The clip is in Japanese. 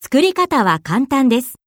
作り方は簡単です。